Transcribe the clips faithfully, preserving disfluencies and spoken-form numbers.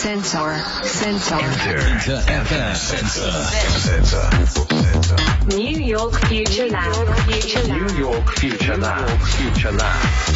Sensor. Sensor. Enter. Enter. Sensor. Sensor. New York Future Lab. Future Lab. New York Future Lab. Future Lab.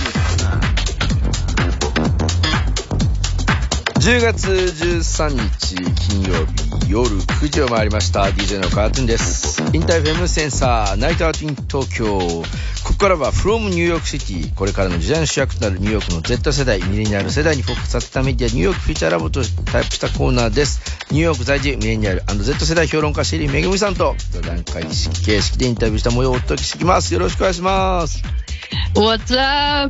じゅうがつじゅうさんにち金曜日夜くじを回りました。 ディージェー のカートゥーンです。インターフェムセンサーナイトアウトイン東京。ここからは from ニューヨークシティ、これからの時代の主役となるニューヨークの Z 世代ミレニアル世代にフォーカスさせたメディアニューヨークフューチャーラボとタイプしたコーナーです。ニューヨーク在住ミレニアル&Z 世代評論家シェリーめぐみさんと座談会形式でインタビューした模様をお届けしていきます。よろしくお願いします。 What's up,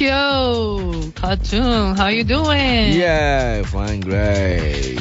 Tokyo? Cartoon, how you doing? Yeah, fine, great.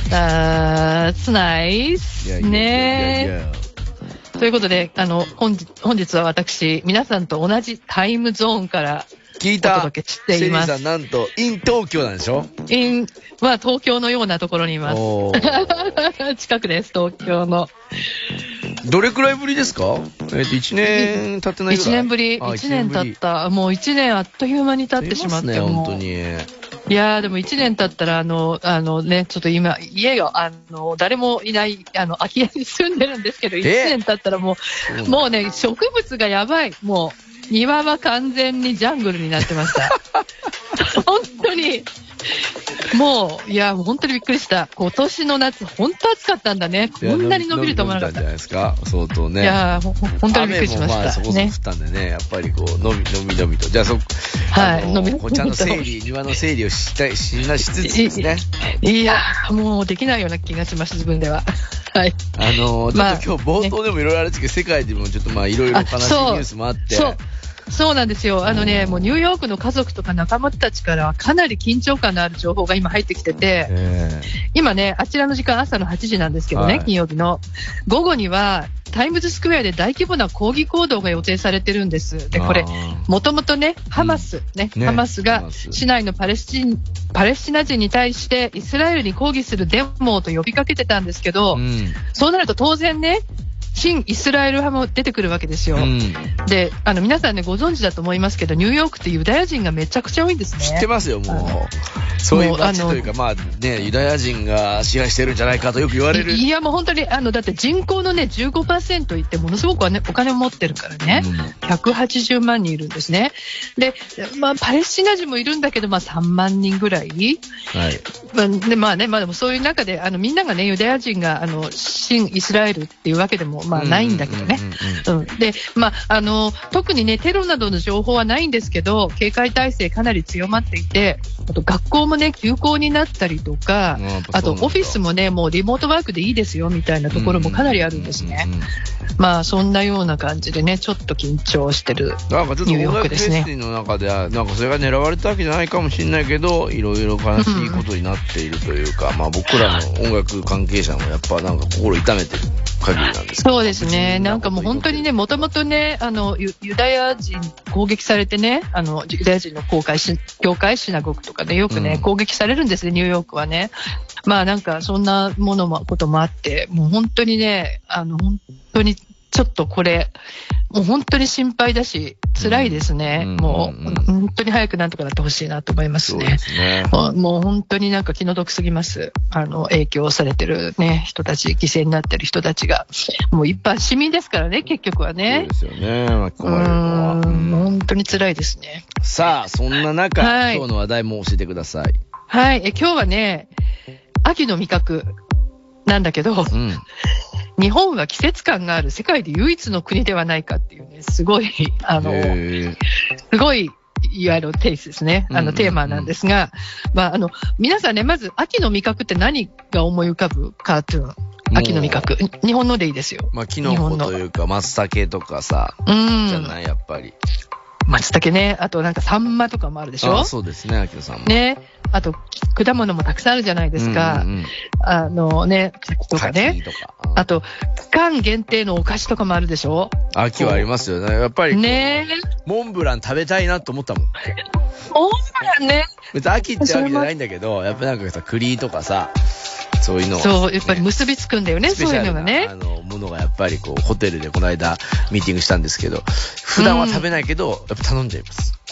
That's nice. Yeah, yeah, ね yeah, yeah. ということで、あの、本日、本日は私、皆さんと同じタイムゾーンから聞いた。 お届けしています。 シェリーさん、なんと、in 東京なんでしょ？ in、まあ、東京のようなところにいます。 おー近くです、東京の。 どれくらいぶりですか？えっと、一年経ってないぐらい。 一年ぶり、 あ一年経った。もう一年あっという間に経ってしまって。 ね、 もう本当に。 いやー、でも一年経ったら、あの、あのね、ちょっと今、家が、あの、誰もいない、あの、空き家に住んでるんですけど、一年経ったらもう、もうね、植物がやばい。もう、庭は完全にジャングルになってました。本当に。もう、いや、本当にびっくりした。今年の夏、本当暑かったんだね。こんなに伸びると思わなかった。 伸びたんじゃないですか、相当ね。 いや、ほ本当にびっくりしました。 雨もまあそこそこ降ったんでね、やっぱりこう、伸び、伸び伸びと。じゃあそ、 はい、 伸び伸びこちらの整理、庭の整理をしたい、しなしつつですね。 いや、もうできないような気がします、自分では。はい。 あの、ちょまあっと今日冒頭でもいろいろあるんですけど、世界でもちょっとまあいろいろ悲しいニュースもあって。 そう。そうなんですよ。あのね、もうニューヨークの家族とか仲間たちからはかなり緊張感のある情報が今入ってきてて、今ね、あちらの時間朝のはちじなんですけどね、はい、金曜日の午後にはタイムズスクエアで大規模な抗議行動が予定されてるんです。で、これ、もともとね、ハマス、ね、ねハマスが市内のパレスチン、パレスチナ人に対してイスラエルに抗議するデモと呼びかけてたんですけど、うん、そうなると当然ね、新イスラエル派も出てくるわけですよ。うん、で、あの皆さんねご存知だと思いますけど、ニューヨークってユダヤ人がめちゃくちゃ多いんですね。 知ってますよ、もう。そういう街というか、まあね、ユダヤ人が支配してるんじゃないかとよく言われる。 い, いやもう本当に、あのだって人口のね じゅうごパーセント いってものすごく、ね、お金を持ってるからね、うん、ひゃくはちじゅうまんにんいるんですね。で、まあパレスチナ人もいるんだけど、まあさんまんにんぐらい。はい。まあ、でまあね、まあでもそういう中で、あのみんながね、ユダヤ人があの新イスラエルっていうわけでもまあないんだけどね。で、まああの特にねテロなどの情報はないんですけど、警戒態勢かなり強まっていて、あと学校もね休校になったりとか、あとオフィスもねもうリモートワークでいいですよみたいなところもかなりあるんですね。まあそんなような感じでね、ちょっと緊張してるニューヨークですね。 なんかちょっと音楽フェスの中ではなんかそれが狙われたわけじゃないかもしれないけど、いろいろ悲しいことになっているというか、うん、まあ僕らの音楽関係者もやっぱなんか心痛めてる限りなんですけど。 そうですね。なんかもう本当にね、もともとね、あのユダヤ人攻撃されてね、あのユダヤ人の公会し教会シナゴグとかでよくね、うん、攻撃されるんですね、ニューヨークはね。まあなんかそんなものもこともあって、もう本当にね、あの本当にちょっとこれもう本当に心配だし辛いですね。うん、もう、うん、本当に早くなんとかなってほしいなと思いますね。そうですね。もう、もう本当になんか気の毒すぎます。あの影響されてるね人たち、犠牲になってる人たちがもう一般市民ですからね、結局はね。 そうですよね。巻き込まれるのは。 うん、本当に辛いですね。 さあそんな中、はい、今日の話題も教えてください。 はい。え今日はね、秋の味覚なんだけど。うん、日本は季節感がある世界で唯一の国ではないかっていうね、すごい、あの、すごい、いわゆるテイスですね、あの、テーマなんですが、まあ、あの、皆さんね、まず、秋の味覚って何が思い浮かぶかっていうの、秋の味覚。日本のでいいですよ。 まあ、キノコというか、松茸とかさ、うん、じゃない、やっぱり。 松茸ね、あとなんかサンマとかもあるでしょ。 あ、そうですね、秋野さんも。 ね。あと、果物もたくさんあるじゃないですか。うんうん、あのね、とかね。とかうん、あと、期間限定のお菓子とかもあるでしょ。 秋はありますよね。やっぱり。 ね。 モンブラン食べたいなと思ったもん。 モンブランね。 別に秋ってわけじゃないんだけど、やっぱなんかさ、栗とかさ、そういうのを、ね、 そう、やっぱり結びつくんだよね、そういうのがね。 あの、ものがやっぱりこう、ホテルでこの間ミーティングしたんですけど、普段は食べないけど、やっぱ頼んじゃいます。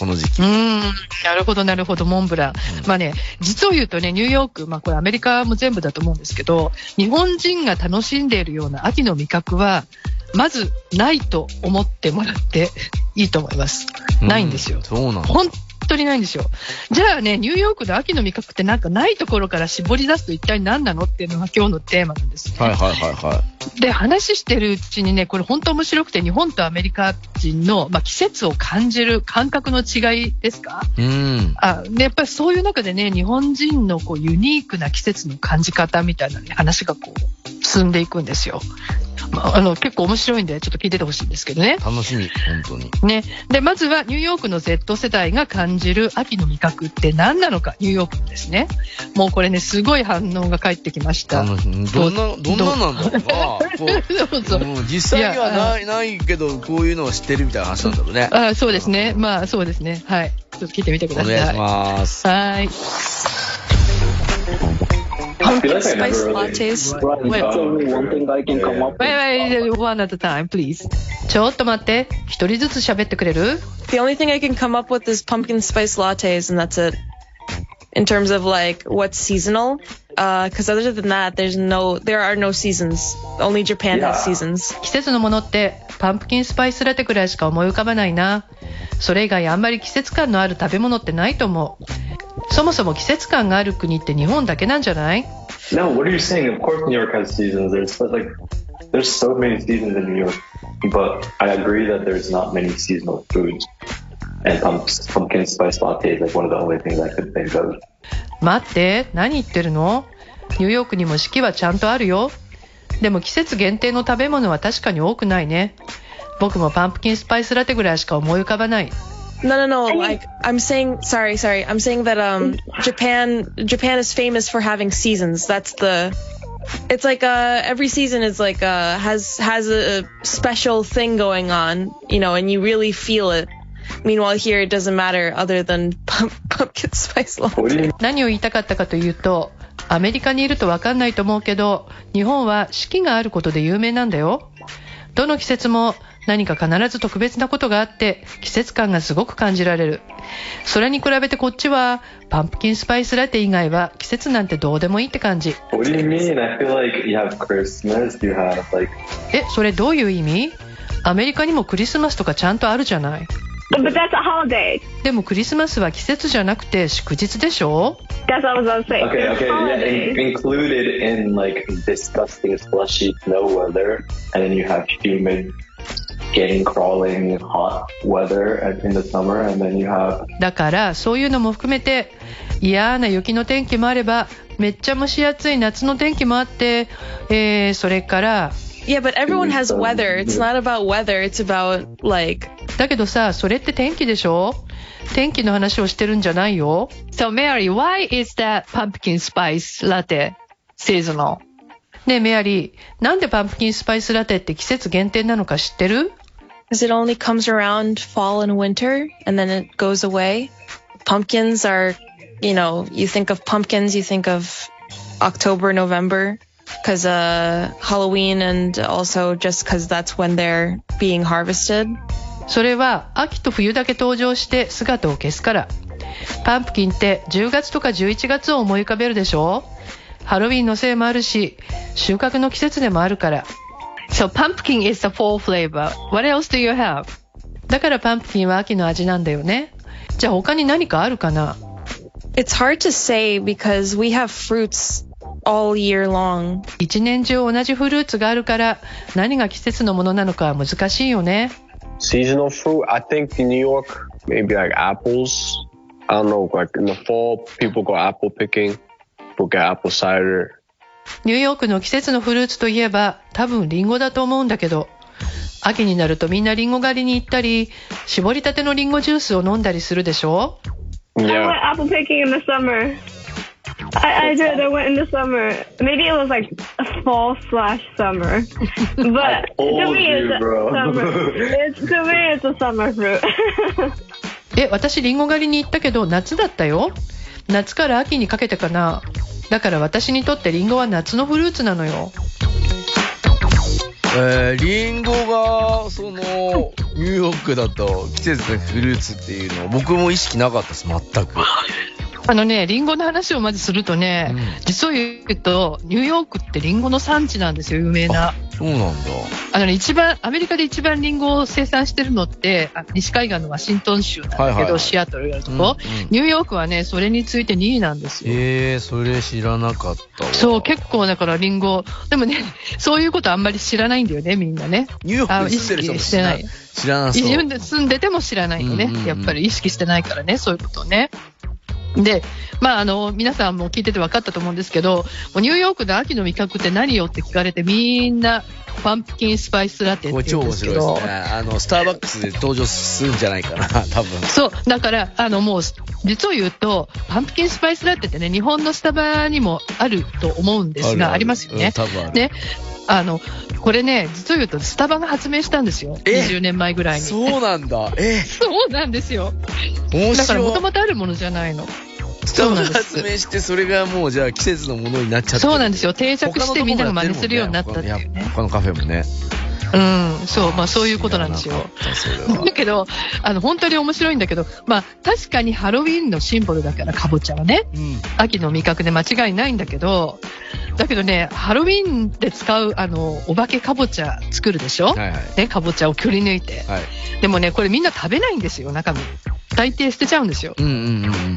この時期。 うーん、なるほどなるほど、モンブラン。うん、まあね、実を言うとね、ニューヨーク、まあこれアメリカも全部だと思うんですけど、日本人が楽しんでいるような秋の味覚は、まずないと思ってもらっていいと思います。ないんですよ。 うん、そうなんだ。 本当にないんですよ。じゃあね、ニューヨークの秋の味覚ってなんかないところから絞り出すと一体何なのっていうのが今日のテーマなんですね。 はいはいはいはい。で、 話してるうちにね、これ本当面白くて、日本とアメリカ人の、まあ、季節を感じる感覚の違いですか？ うん。 あ、で、やっぱりそういう中でね、日本人のこうユニークな季節の感じ方みたいな、ね、話がこう進んでいくんですよ。まあ、あの結構面白いんでちょっと聞いててほしいんですけどね。 楽しみ、本当に。 ね。で、まずはニューヨークの Z 世代が感じる秋の味覚って何なのか、ニューヨークのですね。もうこれね、すごい反応が返ってきました。 どんな、どんななんだろうな。 そうそう、 うん、実際にはない、ないけど、こういうのを知ってるみたいな話なんだろうね。 あ、そうですね。まあ、そうですね。はい。ちょっと聞いてみてください。 お願いします。 はい。 Pumpkin spice lattes. Wait, only one thing I can come up with. Wait, wait, one at a time, please. ちょっと待って。一人ずつ喋ってくれる？ The only thing I can come up with is pumpkin spice lattes, and that's it. In terms of like what's seasonal, because uh, other than that, there's no, there are no seasons. Only Japan Yeah. has seasons. 季節のものってパンプキンスパイスラテくらいしか思い浮かばないな。それ以外あんまり季節感のある食べ物ってないと思う。そもそも季節感がある国って日本だけなんじゃない？ No, what are you saying? Of course New York has seasons. There's like, there's so many seasons in New York. But I agree that there's not many seasonal foods. And pumps, pumpkin spice latte is like one of the only things I could think of. 待って、何言ってるの？ニューヨークにも四季はちゃんとあるよ。でも季節限定の食べ物は確かに多くないね。僕もパンプキンスパイスラテぐらいしか思い浮かばない。 No, no, no. Like I'm saying, sorry, sorry. I'm saying that um, Japan, Japan is famous for having seasons. That's the. It's like uh, every season is like uh, has has a special thing going on, you know, and you really feel it. Meanwhile, here it doesn't matter other than pump, pumpkin spice latte. 何を言いたかったかというと、アメリカにいると分かんないと思うけど、日本は四季があることで有名なんだよ。どの季節も何か必ず特別なことがあって季節感がすごく感じられる。それに比べてこっちはパンプキンスパイスラテ以外は季節なんてどうでもいいって感じ。 What do you mean? I feel like you have Christmas, you have like... え、それどういう意味？アメリカにもクリスマスとかちゃんとあるじゃない。 But that's a holiday. でもクリスマスは季節じゃなくて祝日でしょ？ That's what I was going to say. Okay, It's okay, yeah, holiday. in- included in like disgusting slushy snow weather, and then you have humid, getting crawling hot weather in the summer, and then you have... だからそういうのも含めて嫌な雪の天気もあればめっちゃ蒸し暑い夏の天気もあって、えー、それから Yeah, but everyone has weather. It's not about weather. It's about like. だけどさ、それって天気でしょ？天気の話をしてるんじゃないよ。So Mary, why is that pumpkin spice latte seasonal? ねえメアリー、なんでパンプキンスパイスラテって季節限定なのか知ってる？ Because it only comes around fall and winter, and then it goes away. Pumpkins are, you know, you think of pumpkins, you think of October, November, because uh, Halloween, and also just because that's when they're being harvested. それは秋と冬だけ登場して姿を消すから。パンプキンってじゅうがつとかじゅういちがつを思い浮かべるでしょ？ハロウィンのせいもあるし、収穫の季節でもあるから。So pumpkin is the fall flavor. What else do you have? だからパンプキンは秋の味なんだよね。じゃあ他に何かあるかな？ It's hard to say because we have fruits all year long. 一年中同じフルーツがあるから何が季節のものなのかは難しいよね。 Seasonal fruit, I think in New York, maybe like apples. I don't know, like in the fall, people go apple picking, people get apple cider. ニューヨークの季節のフルーツといえば多分リンゴだと思うんだけど、秋になるとみんなリンゴ狩りに行ったり、絞りたてのリンゴジュースを飲んだりするでしょ？ I Yeah. went apple picking in the summer. I, I did. I went in the summer. Maybe it was like a fall slash summer. But to told me, you, it's a bro. summer. It's, to me, it's a summer fruit. え、私リンゴ狩りに行ったけど夏だったよ。夏から秋にかけてかな。だから私にとってリンゴは夏のフルーツなのよ。 えー、リンゴがそのニューヨークだと季節のフルーツっていうの僕も意識なかったです全く。 あのね、リンゴの話をまずするとね、うん、実を言うとニューヨークってリンゴの産地なんですよ、有名な。 そうなんだ。 あのね、一番アメリカで一番リンゴを生産してるのってあ西海岸のワシントン州なんだけど、はいはいはい、シアトルがあるとこ、うんうん、ニューヨークはねそれについてにいなんですよ。 へえー、それ知らなかったわ。 そう、結構だからリンゴでもねそういうことあんまり知らないんだよね、みんなね。 ニューヨークに住んでる人も知らない。知らなそう。 自分で住んでても知らないよね、うんうんうん、やっぱり意識してないからね、そういうことをね。で、まあ、あの、皆さんも聞いてて分かったと思うんですけど、ニューヨークの秋の味覚って何よって聞かれて、みんな、パンプキンスパイスラテって言うんですけど。 超面白いですね。あの、スターバックスで登場するんじゃないかな、多分。 そう、だから、あの、もう、実を言うと、パンプキンスパイスラテってね、日本のスタバにもあると思うんですが、あ, あ, ありますよね。うん、多分ある。ね。あの、これね、実を言うと、スタバが発明したんですよ。にじゅうねんまえぐらいに。 そうなんだ。えそうなんですよ。 面白い。 だから、もともとあるものじゃないの。 スタバが発明してそれがもうじゃあ季節のものになっちゃってる。 そうなんですよ。定着してみんなが真似するようになったっていうね。 他のカフェもね。 うん、そう、まあそういうことなんですよ。だけど、あの、本当に面白いんだけど、まあ確かにハロウィンのシンボルだからカボチャはね、うん、秋の味覚で間違いないんだけど、だけどね、ハロウィンで使う、あの、お化けカボチャ作るでしょ、はいはい、ね、カボチャをくり抜いて、はい。でもね、これみんな食べないんですよ、中身。大抵捨てちゃうんですよ。うんうんうん、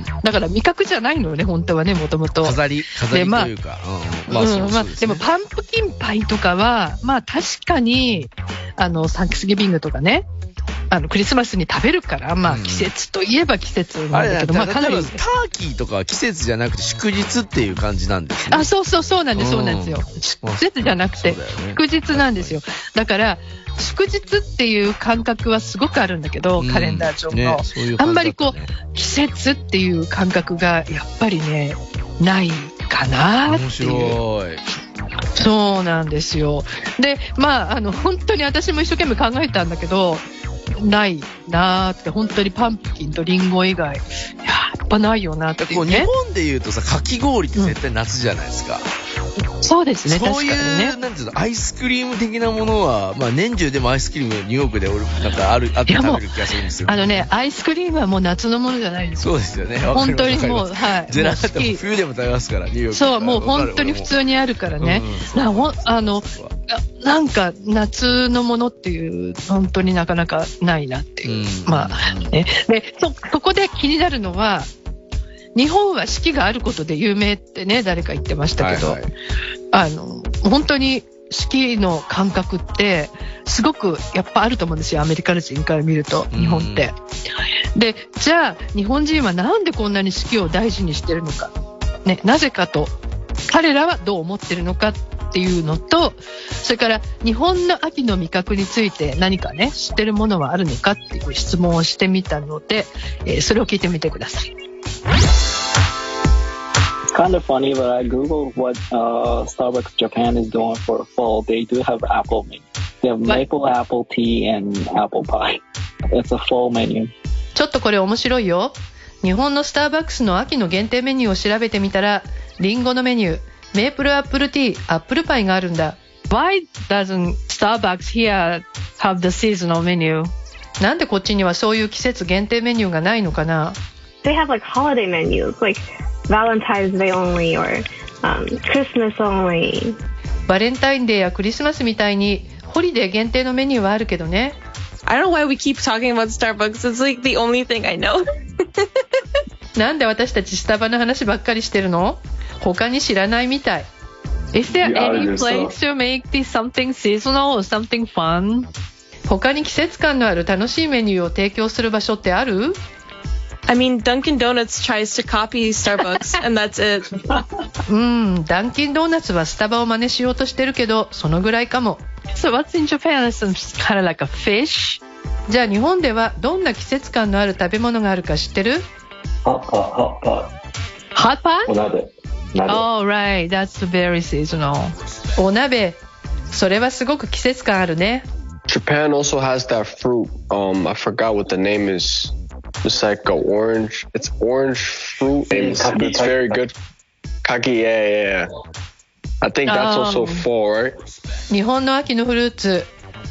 だから味覚じゃないのよね、本当はね、もともと。 飾り、飾りというか。 まあ、うん、まあ、うん、まあ、でもパンプキンパイとかは、まあ確かに、あの、サンクスギビングとかね、あの、クリスマスに食べるから、まあ季節といえば季節なんだけど、 うん、 まあかなり。 ターキーとかは季節じゃなくて祝日っていう感じなんですね。 あ、そうそうそうなんです、そうなんですよ。季節じゃなくて、祝日なんですよ。だから、祝日っていう感覚はすごくあるんだけど、うん、カレンダー上の、ね、そういう感じだったね。あんまりこう、季節っていう感覚がやっぱりね、ないかなっていう。面白い。そうなんですよ。で、まあ、あの、本当に私も一生懸命考えたんだけど、ないなーって、本当にパンプキンとリンゴ以外、やっぱないよなっていうね。 日本で言うとさ、かき氷って絶対夏じゃないですか。 うん、そうですね、 そういう、 確かにね。 なんていうの、アイスクリーム的なものは、まあ年中でもアイスクリームニューヨークで俺、なんかある、あって食べる気がするんですよ。 あのね、アイスクリームはもう夏のものじゃないですよ。そうですよね。 本当にもう、はい。 ジェラートも冬でも食べますから、ニューヨーク。 そう、もう本当に普通にあるからね。うん、なほあの、なんか夏のものっていう、本当になかなかないなっていう。うん、まあ、ね。で、そ、ここで気になるのは、日本は四季があることで有名ってね、誰か言ってましたけど、はいはい、あの、本当に四季の感覚ってすごくやっぱあると思うんですよ、アメリカ人から見ると、日本って。で、じゃあ日本人はなんでこんなに四季を大事にしてるのか、ね、なぜかと、彼らはどう思ってるのかっていうのと、それから日本の秋の味覚について何かね、知ってるものはあるのかっていう質問をしてみたので、えー、それを聞いてみてください。 It's kind of funny, but I googled what uh, Starbucks Japan is doing for fall. They do have apple menu. They have maple what? apple tea and apple pie. It's a fall menu. ちょっとこれ面白いよ。日本のスターバックスの秋の限定メニューを調べてみたら、リンゴのメニュー、メープルアップルティー、アップルパイがあるんだ。Why doesn't Starbucks here have the seasonal menu? なんでこっちにはそういう季節限定メニューがないのかな？ They have like holiday menus, like Valentine's Day only or、um, Christmas only. バレンタインデーやクリスマスみたいにホリデー限定のメニューはあるけどね。 I don't know why we keep talking about Starbucks. It's like the only thing I know. なんで私たちスタバの話ばっかりしてるの？他に知らないみたい。Is there any place to make this something seasonal or something fun? 他に季節感のある楽しいメニューを提供する場所ってある？ I mean, Dunkin' Donuts tries to copy Starbucks and that's it. うん、ダンキンドーナツはスタバを真似しようとしてるけど、そのぐらいかも。So what's in Japan is kind of like a fish? じゃあ日本ではどんな季節感のある食べ物があるか知ってる？ Hot pot, hot pot. Hot pot? お鍋。 Oh, right. That's very seasonal. お鍋。それはすごく季節感あるね。 Japan also has that fruit. Um, I forgot what the name is. It's like a orange. It's orange fruit. And it's, it's very good. Kaki, yeah, yeah. I think that's also fall, right? 日本の秋のフルーツ。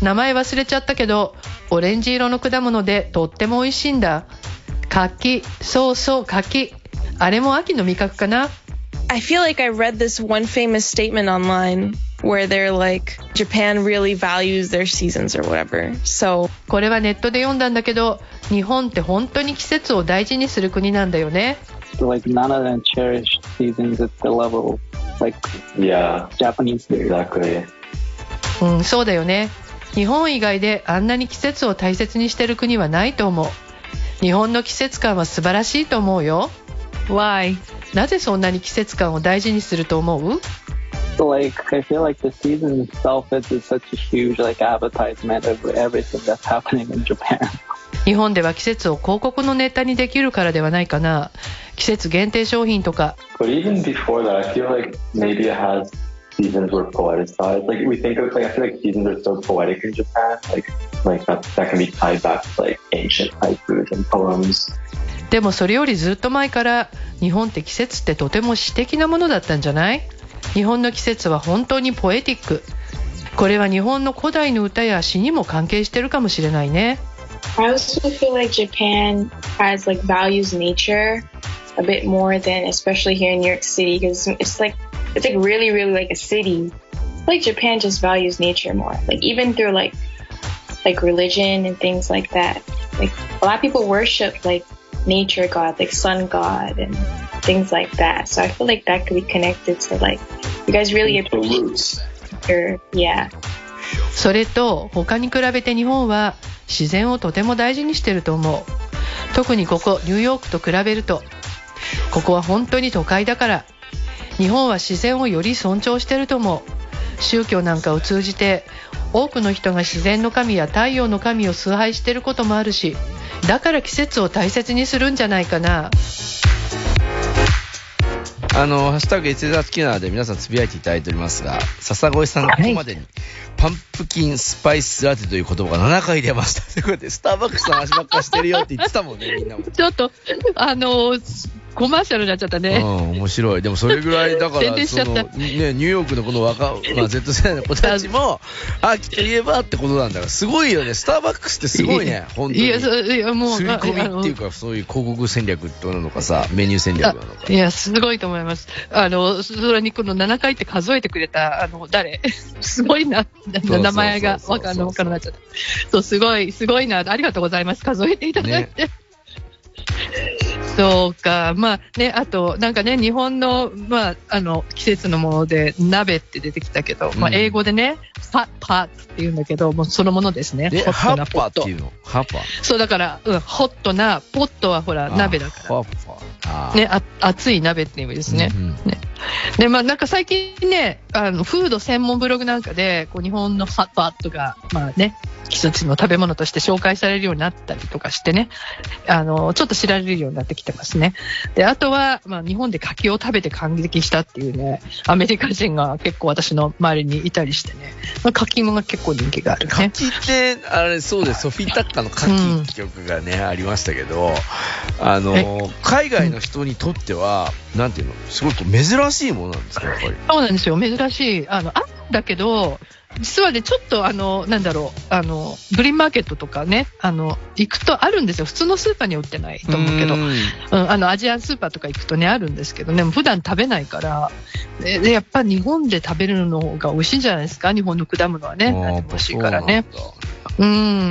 名前忘れちゃったけど、オレンジ色の果物でとっても美味しいんだ。柿、そうそう柿。あれも秋の味覚かな。 I feel like I read this one famous statement online where they're like, Japan really values their seasons or whatever. So, これはネットで読んだんだけど、日本って本当に季節を大事にする国なんだよね。 So, like, none of them cherish seasons at the level like Yeah, Japanese do. exactly. うん、そうだよね。日本以外であんなに季節を大切にしてる国はないと思う。日本の季節感は素晴らしいと思うよ。Why? なぜそんなに季節感を大事にすると思う？ So, like, I feel like the season itself is such a huge, like, advertisement of everything that's happening in Japan. 日本では季節を広告のネタにできるからではないかな。季節限定商品とか。 But even before that, I feel like maybe it has seasons were poeticized. Like we think of, like I feel like seasons are so poetic in Japan. Like, like that that can be tied back to like ancient haikus and poems. でもそれよりずっと前から日本って季節ってとても詩的なものだったんじゃない？日本の季節は本当にポエティック。これは日本の古代の歌や詩にも関係してるかもしれないね。 I also feel like Japan has like values nature a bit more than especially here in New York City because it's like it's like really really like a city. I feel like Japan just values nature more. Like even through like like religion and things like that. Like a lot of people worship like nature god, like sun god and things like that. So I feel like that could be connected to like you guys really appreciate your yeah. それと他に比べて日本は自然をとても大事にしてると思う。特にここニューヨークと比べると、ここは本当に都会だから日本は自然をより尊重してると思う。宗教なんかを通じて多くの人が自然の神や太陽の神を崇拝してることもあるし、だから季節を大切にするんじゃないかな。 あのハッシュタグ エスエス 好きなので皆さんつぶやいていただいておりますが、笹越さんがここまでに、はい、パンプキンスパイスラテという言葉がななかい出ました。ということでスターバックスの話ばっかしてるよって言ってたもんね、みんなも。 ちょっとあのコマーシャルになっちゃったね。 うん、面白い。でもそれぐらいだからその、ね、ニューヨークのこの若、まあ、Z 世代の子たちも秋といえばってことなんだから、すごいよね。スターバックスってすごいね、本当に。いや、いやもう刷り込みっていうか、そういう広告戦略なのかさ、メニュー戦略なのか。 いや、すごいと思います。あのそれにこのななかいって数えてくれたあの誰すごいな、名前がわかんなくなっちゃった。そう、すごいすごいな、ありがとうございます。数えていただいて。ね、そうか、まあね、あとなんかね、日本のまああの季節のもので鍋って出てきたけど、うん、まあ英語でね、パパッって言うんだけど、もうそのものですね。 ホットなポット。っていうの？ハッパー。 そうだから、うん、ホットなポットはほら鍋だから。ハッパー。ね、あ熱い鍋っていう意味ですね。うんうん、ね。でまあなんか最近ね、あのフード専門ブログなんかでこう日本のハッパーとかまあね。季節の食べ物として紹介されるようになったりとかしてね、あのちょっと知られるようになってきてますね。であとは、まあ、日本で柿を食べて感激したっていうね、アメリカ人が結構私の周りにいたりしてね、まあ、柿芋が結構人気があるね。 柿ってあれそうです、ソフィータッカーの柿って曲がね、うん、ありましたけど、あの海外の人にとっては、うん、なんていうの、すごく珍しいものなんですか、やっぱり。 そうなんですよ、珍しい。あのあるんだけど、実はね、ちょっとあのなんだろう、あのグリーンマーケットとかね、あの行くとあるんですよ。普通のスーパーには売ってないと思うけど、うん、うん、あのアジアンスーパーとか行くとねあるんですけどね、普段食べないから、ででやっぱり日本で食べるのが美味しいんじゃないですか。日本の果物はね、美味しいからね。うん、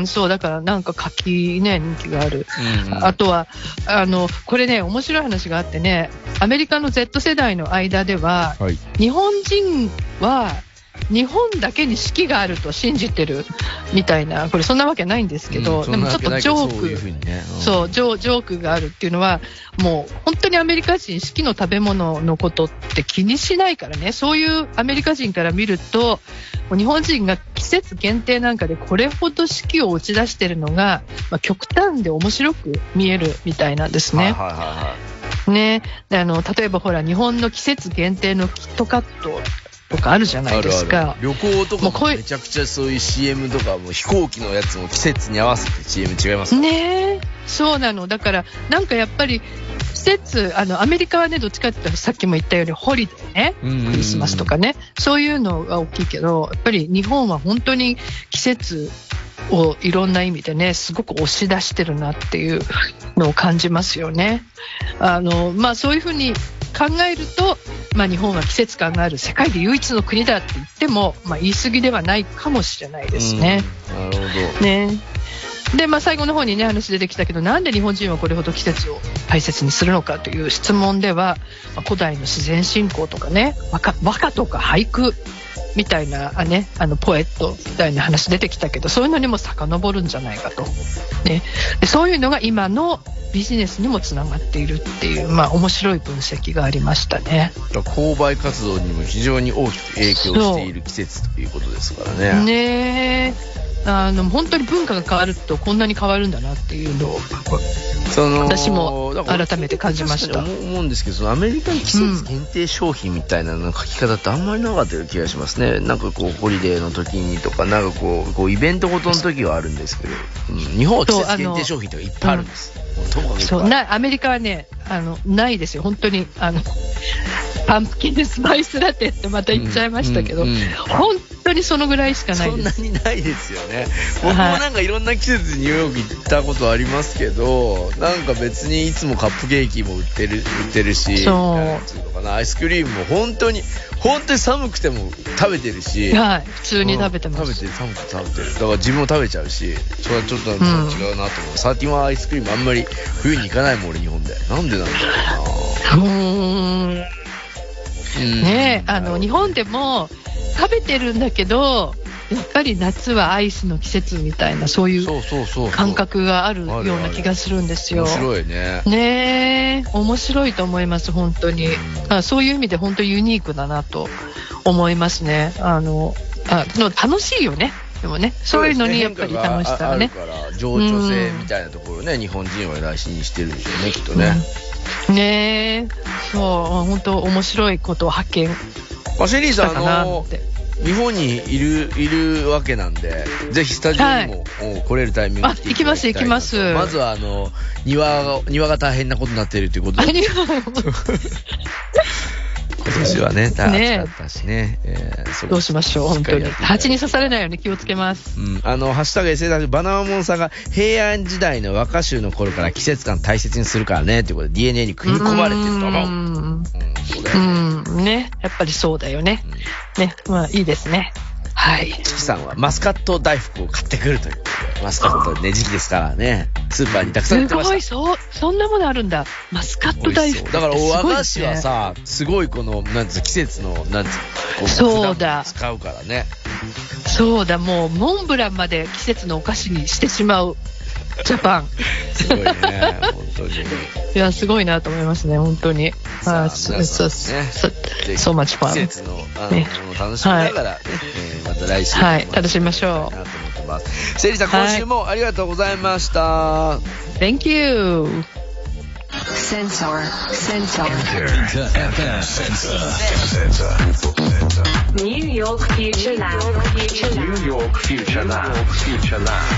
そうだからなんか柿ね、人気がある。うん、あとはあのこれね、面白い話があってね、アメリカの Z 世代の間では、はい、日本人は日本だけに四季があると信じてるみたいな、これそんなわけないんですけど、うん、でもちょっとジョーク、そういうふうにね、うん、そうジョ、ジョークがあるっていうのは、もう本当にアメリカ人四季の食べ物のことって気にしないからね。そういうアメリカ人から見ると、日本人が季節限定なんかでこれほど四季を打ち出してるのが、まあ、極端で面白く見えるみたいなんですね。はいはいはいはい、ね、あの例えばほら日本の季節限定のキットカットとかあるじゃないですか。 あるある。旅行とかもめちゃくちゃそういう シーエム とかも飛行機のやつも季節に合わせて シーエム 違いますかね。そうなの。だからなんかやっぱり節、あの、アメリカはね、どっちかっていうと、さっきも言ったように、ホリデーね、 うんうんうんクリスマスとかね、そういうのが大きいけど、やっぱり日本は本当に季節をいろんな意味でね、すごく押し出してるなっていうのを感じますよね。あの、まあ、そういうふうに考えると、まあ、日本は季節感がある世界で唯一の国だって言っても、まあ、言い過ぎではないかもしれないですね。 なるほど。 ね。で、まあ、最後の方にね、話出てきたけど、なんで日本人はこれほど季節を大切にするのかという質問では、まあ、古代の自然信仰とかね、和歌、和歌とか俳句みたいな、あね、あの、ポエットみたいな話出てきたけど、そういうのにも遡るんじゃないかと。ね。で、そういうのが今のビジネスにもつながっているっていう、まあ、面白い分析がありましたね。 購買活動にも非常に大きく影響している季節ということですからね。 ねえ。あの本当に文化が変わるとこんなに変わるんだなっていうのをその私も改めて感じました。 思うんですけど、そのアメリカに季節限定商品みたいなの書き方ってあんまりなかったような気がしますね。なんかこうホリデーの時にとか、なんかこうこうイベントごとの時はあるんですけど、うん、日本は季節限定商品とかいっぱいあるんです。 そうなアメリカはね、あのないですよ本当に。あのパンプキンスパイスラテってまた言っちゃいましたけど、うんうんうん、本当にそのぐらいしかないです。 そんなにないですよね。僕もなんかいろんな季節にニューヨーク行ったことありますけど、なんか別にいつもカップケーキも売ってる売ってるし、なんていうのかな、アイスクリームも本当に本当に寒くても食べてるし、 はい、普通に食べてます。 うん、食べてる寒くて食べてる。だから自分も食べちゃうし、それはちょっとなんか違うなと思う。うん、サーティワンアイスクリームあんまり冬に行かないもん俺日本で。なんでなんだろうな。うーん。 ねえ、あの日本でも食べてるんだけど、やっぱり夏はアイスの季節みたいなそういう感覚があるような気がするんですよ。 面白いね。 ねえ、面白いと思います本当に。あ、そういう意味で本当ユニークだなと思いますね。あのあの楽しいよね。でもね、そういうのにやっぱり楽しさがね。 あるから情緒性みたいなところね、日本人は大事にしてるんでしょうねきっとね。 うん、ねえ、そう本当面白いことを発見したかなって。 日本にいるいるわけなんで、ぜひスタジオにも、はい、来れるタイミングで行きます行きます。 まずはあの庭が庭が大変なことになっているということで。今年はね、暑かったしね。えー、どうしましょう、本当に。蜂に刺されないように気をつけます。 うん。あの、ハッシュタグ エスエヌエス バナナモンさんが平安時代の和歌集の頃から季節感大切にするからね、ということで ディーエヌエー に組み込まれてると思う。うん。うん、 そうだよね。うん。ね。やっぱりそうだよね。うん、ね。まあ、いいですね。はい。 チキさんはマスカット大福を買ってくるということで、マスカットね、時期ですからね、スーパーにたくさん売ってました。 すごい、そう、そんなものあるんだ。マスカット大福。 だから和菓子はさ、すごいこの、なんつう、季節の、なんつう、こう、 そうだ。 使うからね。 そうだ、もう、モンブランまで季節のお菓子にしてしまう。ジャパン。 すごいね、本当に。 いや、すごいなと思いますね、本当に。 ああ、そうそうね。そうマチファン。 季節の、あの、ね、楽しみながら、ね、えー、また来週。 はい、楽しみましょう。 なと思ってます。セリさん、今週もありがとうございました。 Thank you. Sensor, sensor. Inter エフエム Sensor. New York Future Lab. New York Future Lab. Future Lab.